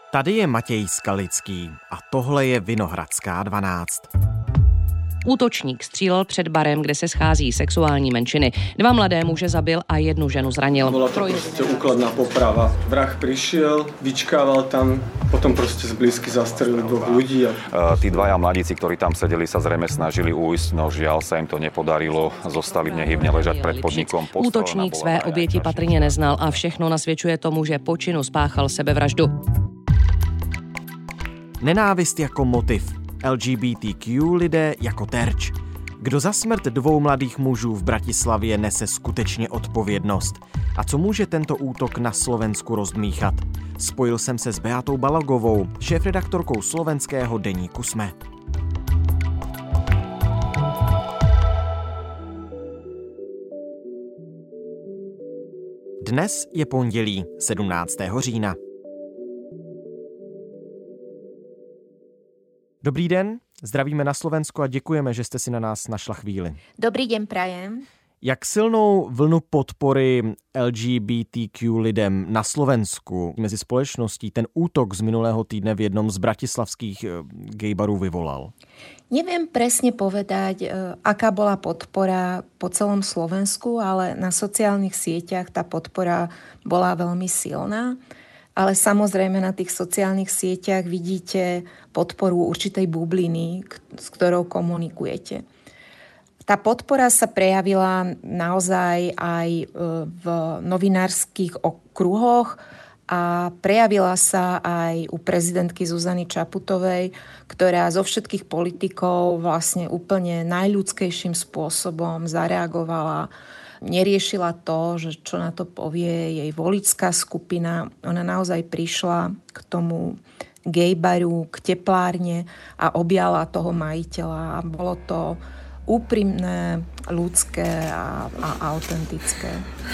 Tady je Matěj Skalický a tohle je Vinohradská 12. Útočník střílel před barem, kde se schází sexuální menšiny. 2 mladé muže zabil a 1 ženu zranil. Bola to proste úkladná poprava. Vrah prišiel, vyčkával tam, potom proste zblízky zastrelil 2 ľudí. Tí 2 mladíci, ktorí tam sedeli, sa zrejme snažili ujsť, no žiaľ sa im to nepodarilo. Zostali nehybne ležať pred podnikom. Útočník své oběti patrně neznal a všechno nasvědčuje tomu, že po činu spáchal sebevraždu. Nenávist jako motiv. LGBTQ lidé jako terč. Kdo za smrt 2 mladých mužů v Bratislavě nese skutečně odpovědnost? A co může tento útok na Slovensku rozdmíchat? Spojil jsem se s Beatou Balogovou, šéfredaktorkou slovenského deníku SME. Dnes je pondělí 17. října. Dobrý den, zdravíme na Slovensku a děkujeme, že jste si na nás našla chvíli. Dobrý den, prajem. Jak silnou vlnu podpory LGBTQ lidem na Slovensku mezi společností ten útok z minulého týdne v jednom z bratislavských gaybarů vyvolal? Neviem presne povedať, aká bola podpora po celom Slovensku, ale na sociálnych sieťach tá podpora bola veľmi silná. Ale samozrejme na tých sociálnych sieťach vidíte podporu určitej bubliny, s ktorou komunikujete. Tá podpora sa prejavila naozaj aj v novinárskych okruhoch a prejavila sa aj u prezidentky Zuzany Čaputovej, ktorá zo všetkých politikov vlastne úplne najľudskejším spôsobom zareagovala. Neriešila to, že čo na to povie jej voličská skupina. Ona naozaj prišla k tomu gaybaru, k teplárne a objala toho majiteľa. A bolo to úprimné, ľudské a autentické.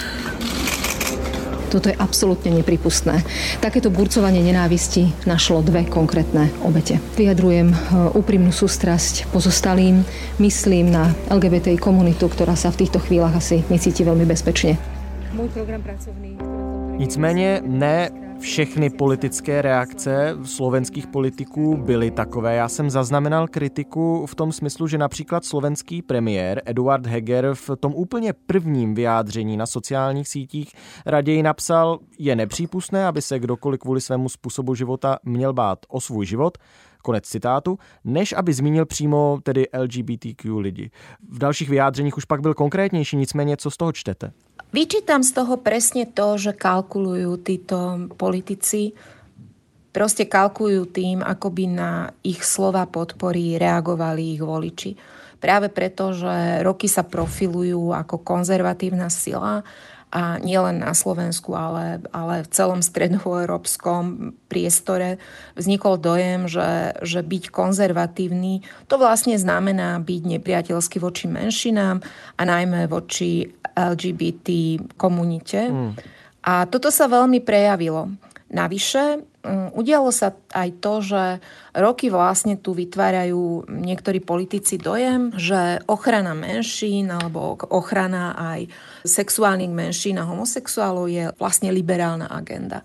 Toto je absolútne nepripustné. Takéto burcovanie nenávisti našlo 2 konkrétne obete. Vyjadrujem úprimnú sústrasť pozostalým, myslím na LGBTI komunitu, ktorá sa v týchto chvíľach asi necíti veľmi bezpečne. Môj program pracovný. Nicméně ne všechny politické reakce slovenských politiků byly takové. Já jsem zaznamenal kritiku v tom smyslu, že například slovenský premiér Eduard Heger v tom úplně prvním vyjádření na sociálních sítích raději napsal, je nepřípustné, aby se kdokoliv kvůli svému způsobu života měl bát o svůj život, konec citátu, než aby zmínil přímo tedy LGBTQ lidi. V dalších vyjádřeních už pak byl konkrétnější, nicméně co z toho čtete? Vyčítam z toho presne to, že kalkulujú títo politici. Proste kalkulujú tým, ako by na ich slova podpory reagovali ich voliči. Práve preto, že roky sa profilujú ako konzervatívna sila a nielen na Slovensku, ale v celom stredoeurópskom priestore vznikol dojem, že byť konzervatívny to vlastne znamená byť nepriateľský voči menšinám a najmä voči LGBT komunite. A toto sa veľmi prejavilo. Navyše, udialo sa aj to, že roky vlastne tu vytvárajú niektorí politici dojem, že ochrana menšín alebo ochrana aj sexuálnych menšín a homosexuálov je vlastne liberálna agenda.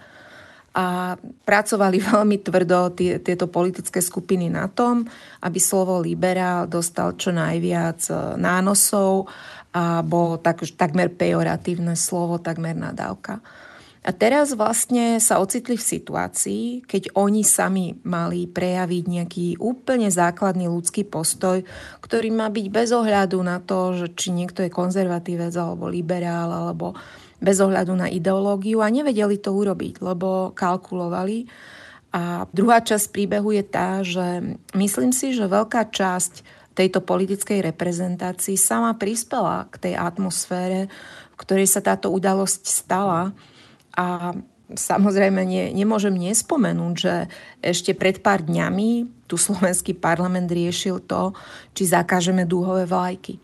A pracovali veľmi tvrdo tieto politické skupiny na tom, aby slovo liberál dostal čo najviac nánosov a bolo takmer pejoratívne slovo, takmer nadávka. A teraz vlastne sa ocitli v situácii, keď oni sami mali prejaviť nejaký úplne základný ľudský postoj, ktorý má byť bez ohľadu na to, že či niekto je konzervatívec alebo liberál, alebo bez ohľadu na ideológiu a nevedeli to urobiť, lebo kalkulovali. A druhá časť príbehu je tá, že myslím si, že veľká časť tejto politickej reprezentácii sama prispela k tej atmosfére, v ktorej sa táto udalosť stala. A samozrejme nemôžem nespomenúť, že ešte pred pár dňami tu slovenský parlament riešil to, či zakážeme dúhové vlajky.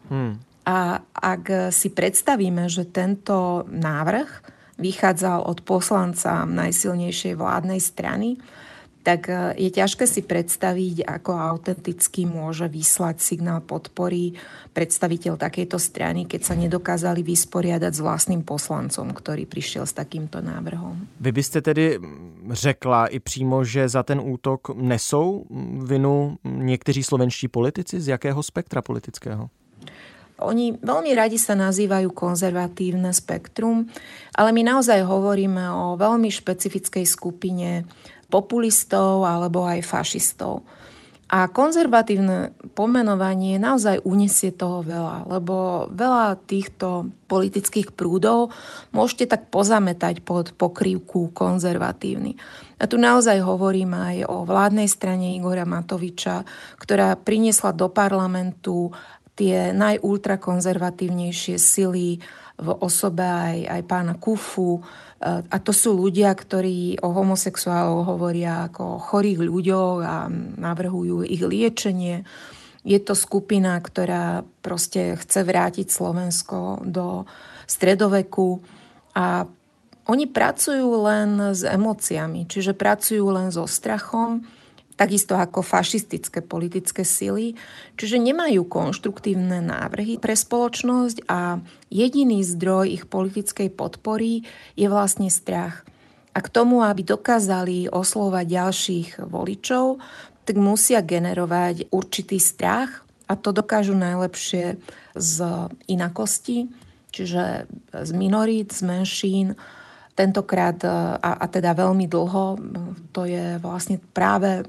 A ak si predstavíme, že tento návrh vychádzal od poslanca najsilnejšej vládnej strany, tak je ťažké si predstaviť, ako autenticky môže vyslať signál podpory predstaviteľ takejto strany, keď sa nedokázali vysporiadať s vlastným poslancom, ktorý prišiel s takýmto návrhom. Vy byste tedy řekla i přímo, že za ten útok nesou vinu někteří slovenští politici? Z jakého spektra politického? Oni veľmi radi sa nazývajú konzervatívne spektrum, ale my naozaj hovoríme o veľmi špecifickej skupine populistov alebo aj fašistov. A konzervatívne pomenovanie naozaj uniesie toho veľa, lebo veľa týchto politických prúdov môžete tak pozametať pod pokrývku konzervatívny. A tu naozaj hovorím aj o vládnej strane Igora Matoviča, ktorá priniesla do parlamentu tie najultrakonzervatívnejšie sily v osobe aj pána Kufu. A to sú ľudia, ktorí o homosexuálov hovoria ako o chorých ľuďoch a navrhujú ich liečenie. Je to skupina, ktorá proste chce vrátiť Slovensko do stredoveku a oni pracujú len s emóciami, čiže pracujú len so strachom, takisto ako fašistické politické sily, čiže nemajú konštruktívne návrhy pre spoločnosť a jediný zdroj ich politickej podpory je vlastne strach. A k tomu, aby dokázali oslovať ďalších voličov, tak musia generovať určitý strach a to dokážu najlepšie z inakosti, čiže z minorít, z menšín. Tentokrát, a teda veľmi dlho, to je vlastne práve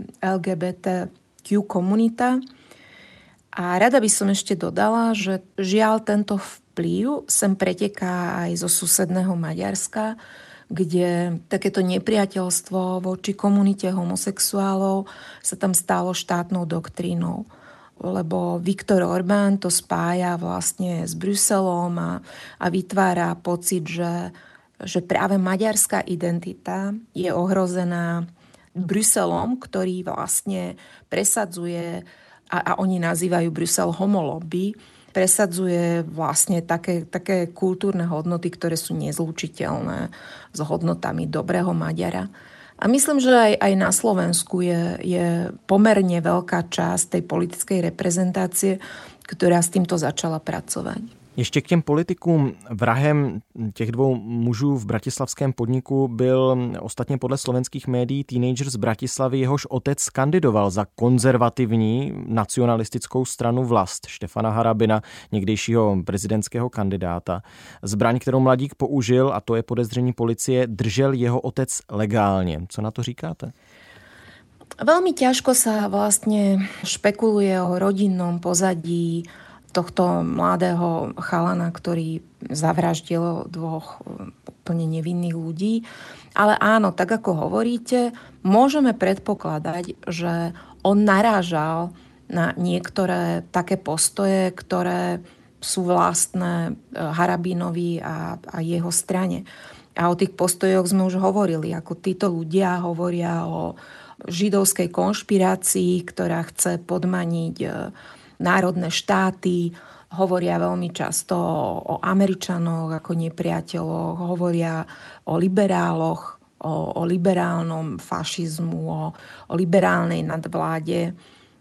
LGBTQ komunita. A rada by som ešte dodala, že žiaľ tento vplyv sem preteká aj zo susedného Maďarska, kde takéto nepriateľstvo voči komunite homosexuálov sa tam stalo štátnou doktrínou. Lebo Viktor Orbán to spája vlastne s Bruselom a vytvára pocit, že práve maďarská identita je ohrozená Bruselom, ktorý vlastne presadzuje, a oni nazývajú Brusel homolobby, presadzuje vlastne také kultúrne hodnoty, ktoré sú nezlučiteľné s hodnotami dobrého Maďara. A myslím, že aj na Slovensku je pomerne veľká časť tej politickej reprezentácie, ktorá s týmto začala pracovať. Ještě k těm politikům. Vrahem těch dvou mužů v bratislavském podniku byl ostatně podle slovenských médií teenager z Bratislavy, jehož otec kandidoval za konzervativní nacionalistickou stranu Vlast Štefana Harabina, někdejšího prezidentského kandidáta. Zbraň, kterou mladík použil, a to je podezření policie, držel jeho otec legálně. Co na to říkáte? Veľmi ťažko sa vlastne špekuluje o rodinnom pozadí tohto mladého chalana, ktorý zavraždil dvoch úplne nevinných ľudí. Ale áno, tak ako hovoríte, môžeme predpokladať, že on narážal na niektoré také postoje, ktoré sú vlastné Harabinovi a jeho strane. A o tých postojoch sme už hovorili, ako títo ľudia hovoria o židovskej konšpirácii, ktorá chce podmaniť národné štáty, hovoria veľmi často o Američanoch ako nepriateľoch, hovoria o liberáloch, o liberálnom fašizmu, o liberálnej nadvláde.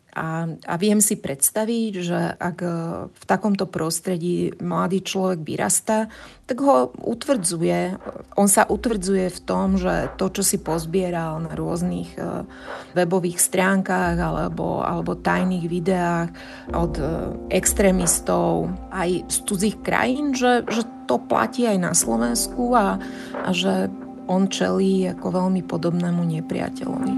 A viem si predstaviť, že ak v takomto prostredí mladý človek vyrastá, tak ho utvrdzuje. On sa utvrdzuje v tom, že to, čo si pozbieral na rôznych webových stránkach alebo tajných videách od extrémistov aj z cudzích krajín, že to platí aj na Slovensku a že on čelí ako veľmi podobnému nepriateľovi.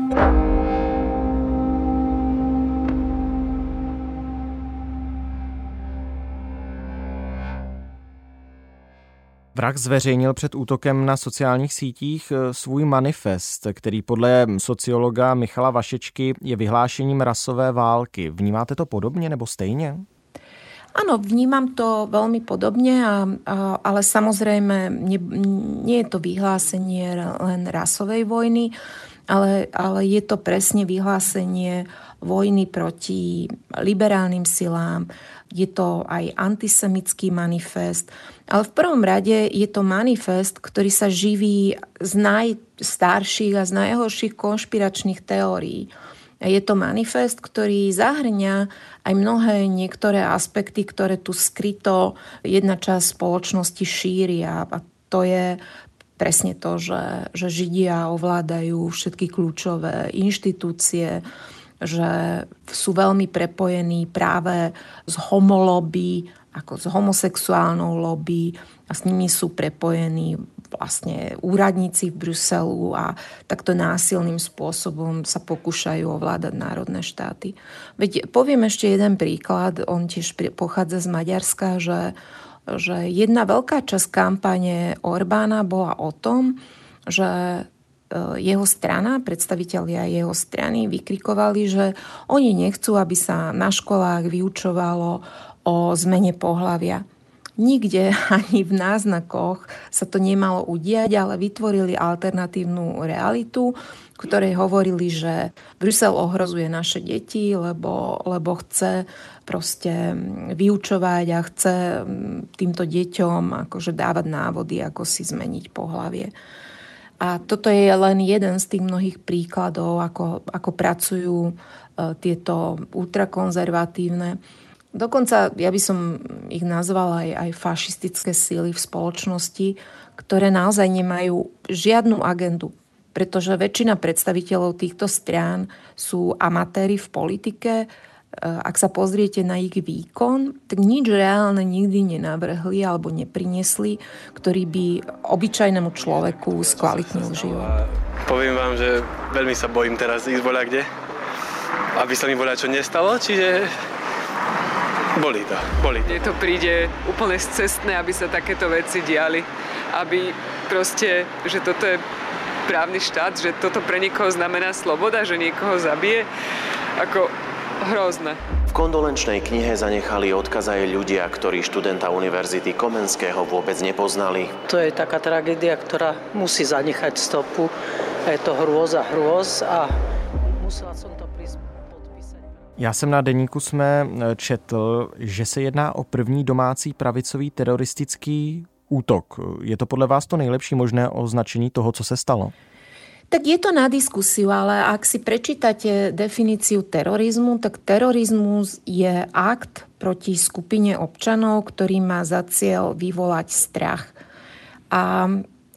Vrah zveřejnil před útokem na sociálních sítích svůj manifest, který podle sociologa Michala Vašečky je vyhlášením rasové války. Vnímáte to podobně nebo stejně? Áno, vnímam to veľmi podobne, ale samozrejme nie je to vyhlásenie len rasovej vojny, ale je to presne vyhlásenie vojny proti liberálnym silám, je to aj antisemický manifest, ale v prvom rade je to manifest, ktorý sa živí z najstarších a z najhorších konšpiračných teórií. Je to manifest, ktorý zahrňa aj mnohé niektoré aspekty, ktoré tu skryto jedna časť spoločnosti šíri a to je presne to, že Židia ovládajú všetky kľúčové inštitúcie, že sú veľmi prepojení práve s homolobby, ako s homosexuálnou lobby a s nimi sú prepojení vlastne úradníci v Bruselu a takto násilným spôsobom sa pokúšajú ovládať národné štáty. Veď poviem ešte jeden príklad, on tiež pochádza z Maďarska, že jedna veľká časť kampane Orbána bola o tom, že jeho strana, predstavitelia jeho strany vykrikovali, že oni nechcú, aby sa na školách vyučovalo o zmene pohlavia. Nikde ani v náznakoch sa to nemalo udiať, ale vytvorili alternatívnu realitu, ktorej hovorili, že Brusel ohrozuje naše deti, lebo chce proste vyučovať a chce týmto deťom akože dávať návody, ako si zmeniť pohlavie. A toto je len jeden z tých mnohých príkladov, ako pracujú tieto ultrakonzervatívne. Dokonca ja by som ich nazvala aj fašistické síly v spoločnosti, ktoré naozaj nemajú žiadnu agendu. Pretože väčšina predstaviteľov týchto strán sú amatéri v politike. Ak sa pozriete na ich výkon, tak nič reálne nikdy nenavrhli alebo nepriniesli, ktorý by obyčajnému človeku skvalitnil život. Poviem vám, že veľmi sa bojím teraz ísť voľakde, aby sa mi voľačo nestalo, čiže bolí to. Mne to príde úplne scestné, aby sa takéto veci diali, aby proste, že toto je právny štát, že toto pre niekoho znamená sloboda, že niekoho zabije, ako hrozné. V kondolenčnej knihe zanechali odkaz aj ľudia, ktorí študenta Univerzity Komenského vôbec nepoznali. To je taká tragédia, ktorá musí zanechať stopu. Je to hrôza a musela som to podpísať. Já jsem na deníku SME četl, že se jedná o první domácí pravicový teroristický útok. Je to podle vás to nejlepší možné označení toho, co se stalo? Tak je to na diskusiu, ale ak si prečítate definíciu terorizmu, tak terorizmus je akt proti skupine občanov, ktorý má za cieľ vyvolať strach. A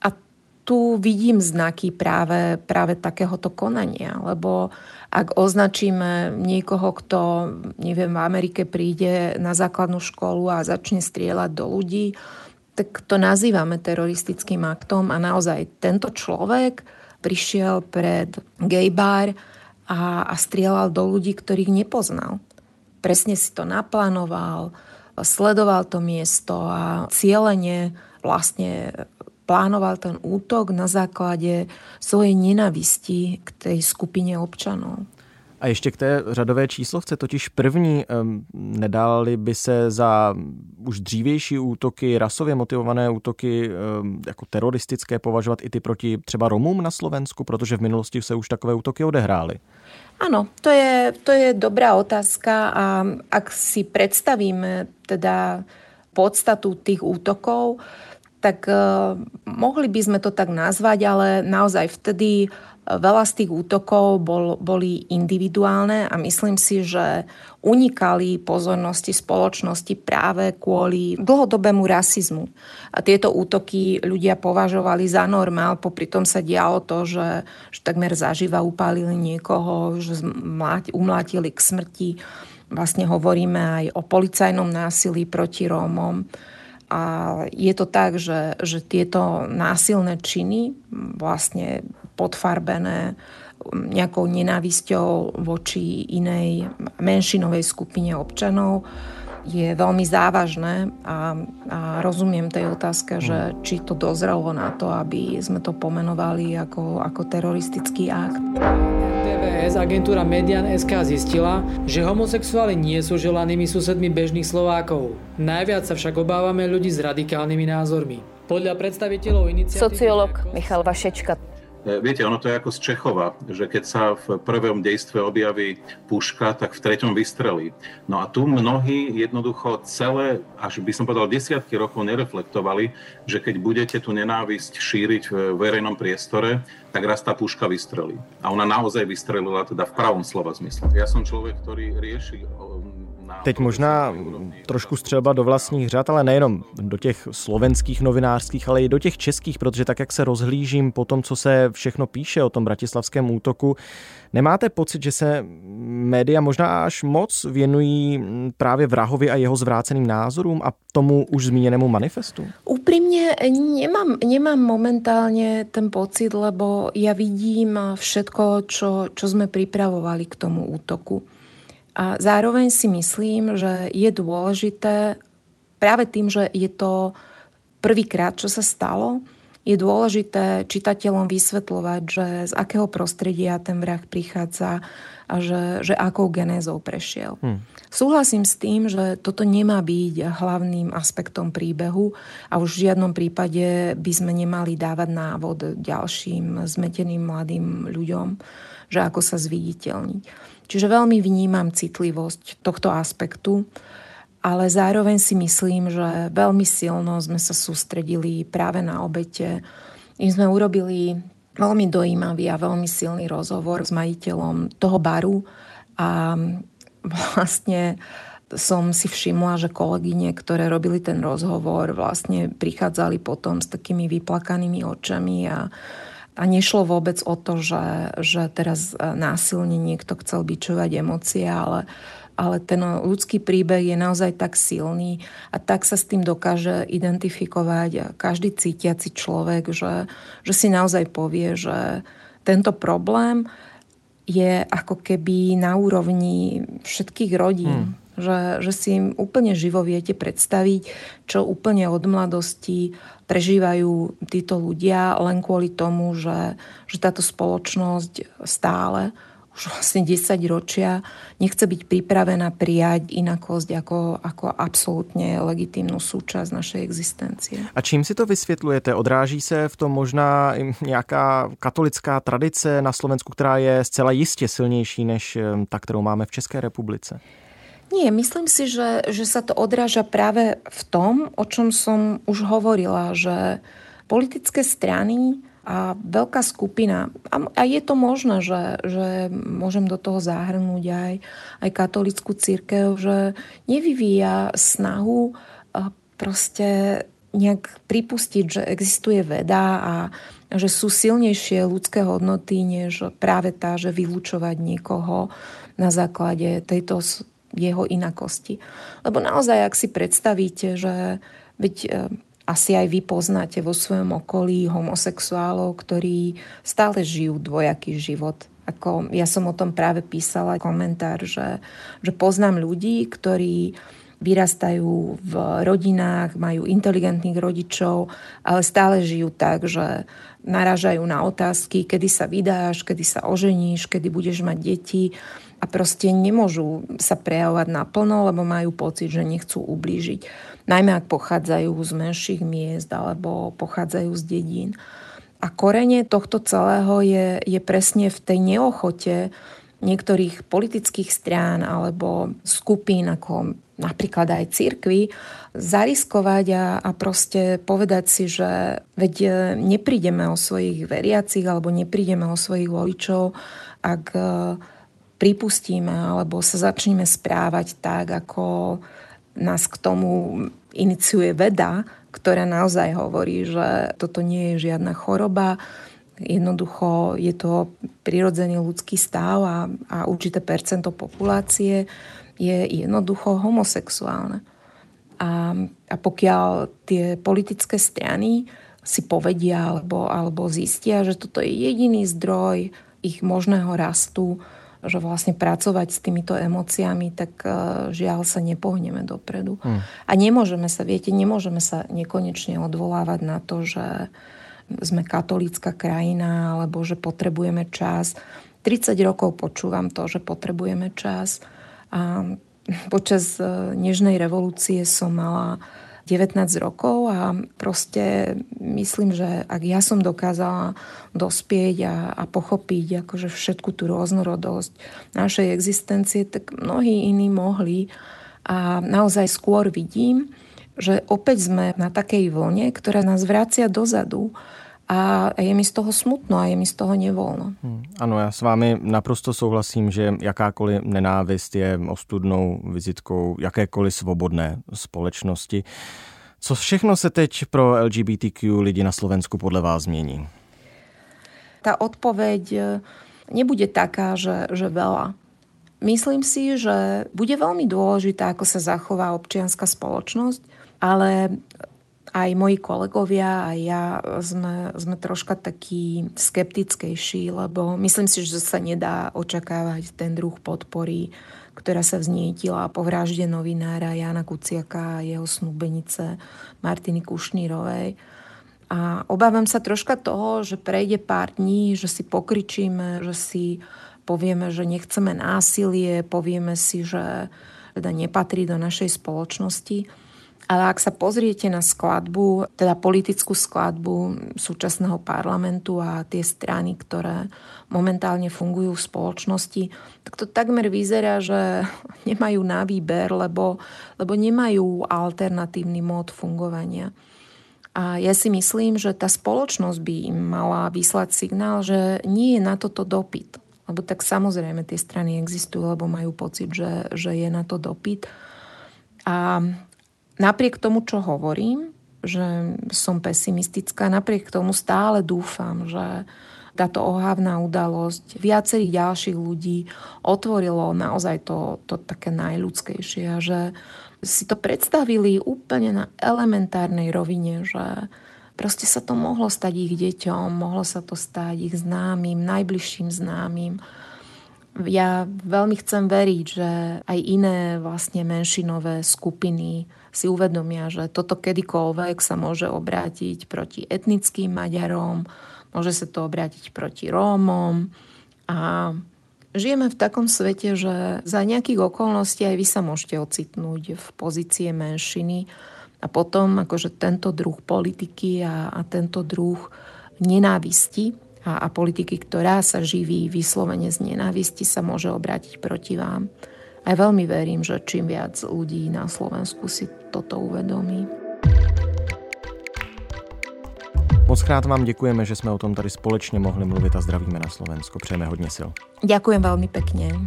tu vidím znaky práve takéhoto konania, lebo ak označíme niekoho, kto, neviem, v Amerike príde na základnú školu a začne strieľať do ľudí, tak to nazývame teroristickým aktom a naozaj tento človek prišiel pred gay bar a strieľal do ľudí, ktorých nepoznal. Presne si to naplánoval, sledoval to miesto a cielene vlastne plánoval ten útok na základe svojej nenávisti k tej skupine občanov. A ještě k té řadové číslovce, totiž první, nedály by se za už dřívější útoky, rasově motivované útoky jako teroristické považovat i ty proti třeba Romům na Slovensku, protože v minulosti se už takové útoky odehrály? Áno, to je dobrá otázka a ak si predstavíme teda podstatu tých útokov, tak mohli by sme to tak nazvať, ale naozaj vtedy veľa z tých útokov boli individuálne a myslím si, že unikali pozornosti spoločnosti práve kvôli dlhodobému rasizmu. A tieto útoky ľudia považovali za normál, popri tom sa dialo to, že takmer zaživa upálili niekoho, že umlátili k smrti. Vlastne hovoríme aj o policajnom násilí proti Rómom. A je to tak, že tieto násilné činy vlastne podfarbené nejakou nenávisťou voči inej menšinovej skupine občanov je veľmi závažné a rozumiem tej otázke, že či to dozrelo na to, aby sme to pomenovali ako teroristický akt. TVS agentúra Median.sk zistila, že homosexuáli nie sú želanými susedmi bežných Slovákov. Najviac sa však obávame ľudí s radikálnymi názormi. Podľa predstaviteľov iniciatívy... Sociológ Michal Vašečka. Viete, ono to je ako z Čechova, že keď sa v prvom dejstve objaví puška, tak v treťom vystrelí. No a tu mnohí jednoducho celé, až by som povedal desiatky rokov nereflektovali, že keď budete tú nenávisť šíriť v verejnom priestore, tak raz tá puška vystrelí. A ona naozaj vystrelila teda v pravom slova zmysle. Ja som človek, ktorý rieši... Teď možná trošku střelba do vlastních řad, ale nejenom do těch slovenských novinářských, ale i do těch českých, protože tak, jak se rozhlížím po tom, co se všechno píše o tom bratislavském útoku, nemáte pocit, že se média možná až moc věnují právě vrahovi a jeho zvráceným názorům a tomu už zmíněnému manifestu? Úprimne nemám momentálne ten pocit, lebo ja vidím všetko, čo sme pripravovali k tomu útoku. A zároveň si myslím, že je dôležité, práve tým, že je to prvýkrát, čo sa stalo, je dôležité čitateľom vysvetľovať, že z akého prostredia ten vrah prichádza a že akou genézou prešiel. Súhlasím s tým, že toto nemá byť hlavným aspektom príbehu a už v žiadnom prípade by sme nemali dávať návod ďalším zmeteným mladým ľuďom, že ako sa zviditeľniť. Čiže veľmi vnímam citlivosť tohto aspektu, ale zároveň si myslím, že veľmi silno sme sa sústredili práve na obete. My sme urobili veľmi dojímavý a veľmi silný rozhovor s majiteľom toho baru a vlastne som si všimla, že kolegyne, ktoré robili ten rozhovor, vlastne prichádzali potom s takými vyplakanými očami a nešlo vôbec o to, že teraz násilne niekto chcel bičovať emócie, ale ten ľudský príbeh je naozaj tak silný a tak sa s tým dokáže identifikovať a každý cítiaci človek, že si naozaj povie, že tento problém je ako keby na úrovni všetkých rodín. Že si im úplne živo viete predstaviť, čo úplne od mladosti prežívajú títo ľudia len kvôli tomu, že táto spoločnosť stále už vlastne 10 ročia nechce byť pripravená prijať inakosť ako absolútne legitímnu súčasť našej existencie. A čím si to vysvětlujete? Odráží se v tom možná nějaká katolická tradice na Slovensku, která je zcela jistě silnější než ta, kterou máme v České republice? Nie, myslím si, že sa to odráža práve v tom, o čom som už hovorila, že politické strany a veľká skupina, a je to možné, že môžem do toho zahrnúť aj katolícku cirkev, že nevyvíja snahu proste nejak pripustiť, že existuje veda a že sú silnejšie ľudské hodnoty, než práve tá, že vylúčovať niekoho na základe tejto jeho inakosti. Lebo naozaj, ak si predstavíte, že asi aj vy poznáte vo svojom okolí homosexuálov, ktorí stále žijú dvojaký život. Ako ja som o tom práve písala komentár, že poznám ľudí, ktorí vyrastajú v rodinách, majú inteligentných rodičov, ale stále žijú tak, že narážajú na otázky, kedy sa vydáš, kedy sa oženíš, kedy budeš mať deti a proste nemôžu sa prejavovať naplno, lebo majú pocit, že nechcú ublížiť. Najmä ak pochádzajú z menších miest alebo pochádzajú z dedín. A korene tohto celého je presne v tej neochote niektorých politických strán alebo skupín, ako napríklad aj cirkvi, zariskovať a proste povedať si, že veď neprídeme o svojich veriacich alebo neprídeme o svojich voličov, ak pripustíme alebo sa začneme správať tak, ako nás k tomu iniciuje veda, ktorá naozaj hovorí, že toto nie je žiadna choroba. Jednoducho je to prirodzený ľudský stav a určité percento populácie je jednoducho homosexuálne. A pokiaľ tie politické strany si povedia alebo zistia, že toto je jediný zdroj ich možného rastu, že vlastne pracovať s týmito emóciami, tak žiaľ sa nepohneme dopredu. A nemôžeme sa nekonečne odvolávať na to, že sme katolícka krajina, alebo že potrebujeme čas. 30 rokov počúvam to, že potrebujeme čas. A počas nežnej revolúcie som mala 19 rokov a proste myslím, že ak ja som dokázala dospieť a pochopiť akože všetku tú rôznorodosť našej existencie, tak mnohí iní mohli. A naozaj skôr vidím, že opäť sme na takej vlne, ktorá nás vracia dozadu. A je mi z toho smutno a je mi z toho nevoľno. Ano, já s vámi naprosto souhlasím, že jakákoliv nenávist je ostudnou vizitkou jakékoliv svobodné společnosti. Co všechno se teď pro LGBTQ lidi na Slovensku podle vás změní? Tá odpoveď nebude taká, že veľa. Myslím si, že bude veľmi dôležité, ako sa zachová občianska spoločnosť, ale aj moji kolegovia, aj ja sme troška takí skeptickejší, lebo myslím si, že sa nedá očakávať ten druh podpory, ktorá sa vznietila po vražde novinára Jána Kuciaka a jeho snúbenice Martiny Kušnírovej. A obávam sa troška toho, že prejde pár dní, že si pokričíme, že si povieme, že nechceme násilie, povieme si, že teda nepatrí do našej spoločnosti. Ale ak sa pozriete na skladbu, teda politickú skladbu súčasného parlamentu a tie strany, ktoré momentálne fungujú v spoločnosti, tak to takmer vyzerá, že nemajú na výber, lebo nemajú alternatívny mód fungovania. A ja si myslím, že tá spoločnosť by im mala vyslať signál, že nie je na toto dopyt. Lebo tak samozrejme tie strany existujú, lebo majú pocit, že je na to dopyt. A napriek tomu, čo hovorím, že som pesimistická, napriek tomu stále dúfam, že táto ohavná udalosť viacerých ďalších ľudí otvorilo naozaj to také najľudskejšie a že si to predstavili úplne na elementárnej rovine, že proste sa to mohlo stať ich deťom, mohlo sa to stať ich známym, najbližším známym. Ja veľmi chcem veriť, že aj iné vlastne menšinové skupiny si uvedomia, že toto kedykoľvek sa môže obrátiť proti etnickým Maďarom, môže sa to obrátiť proti Rómom a žijeme v takom svete, že za nejakých okolností aj vy sa môžete ocitnúť v pozície menšiny a potom akože tento druh politiky a tento druh nenávisti a politiky, ktorá sa živí vyslovene z nenávisti, sa môže obrátiť proti vám. A veľmi verím, že čím viac ľudí na Slovensku si toto uvedomí. Mockrát vám děkujeme, že jsme o tom tady společně mohli mluvit a zdravíme na Slovensko. Přejeme hodně sil. Ďakujem veľmi pekne.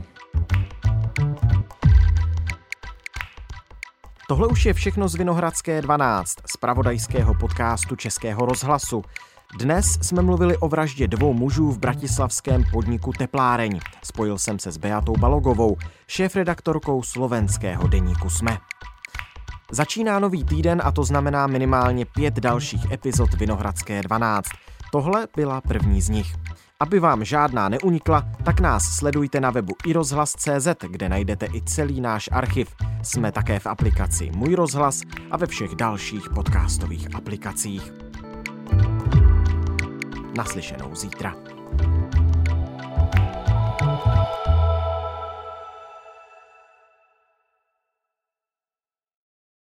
Tohle už je všechno z Vinohradské 12, z pravodajského podcastu Českého rozhlasu. Dnes jsme mluvili o vraždě 2 mužů v bratislavském podniku Tepláreň. Spojil jsem se s Beatou Balogovou, šéfredaktorkou slovenského deníku SME. Začíná nový týden a to znamená minimálně 5 dalších epizod Vinohradské 12. Tohle byla první z nich. Aby vám žádná neunikla, tak nás sledujte na webu iRozhlas.cz, kde najdete i celý náš archiv. Jsme také v aplikaci Můj rozhlas a ve všech dalších podcastových aplikacích. Naslyšenou zítra.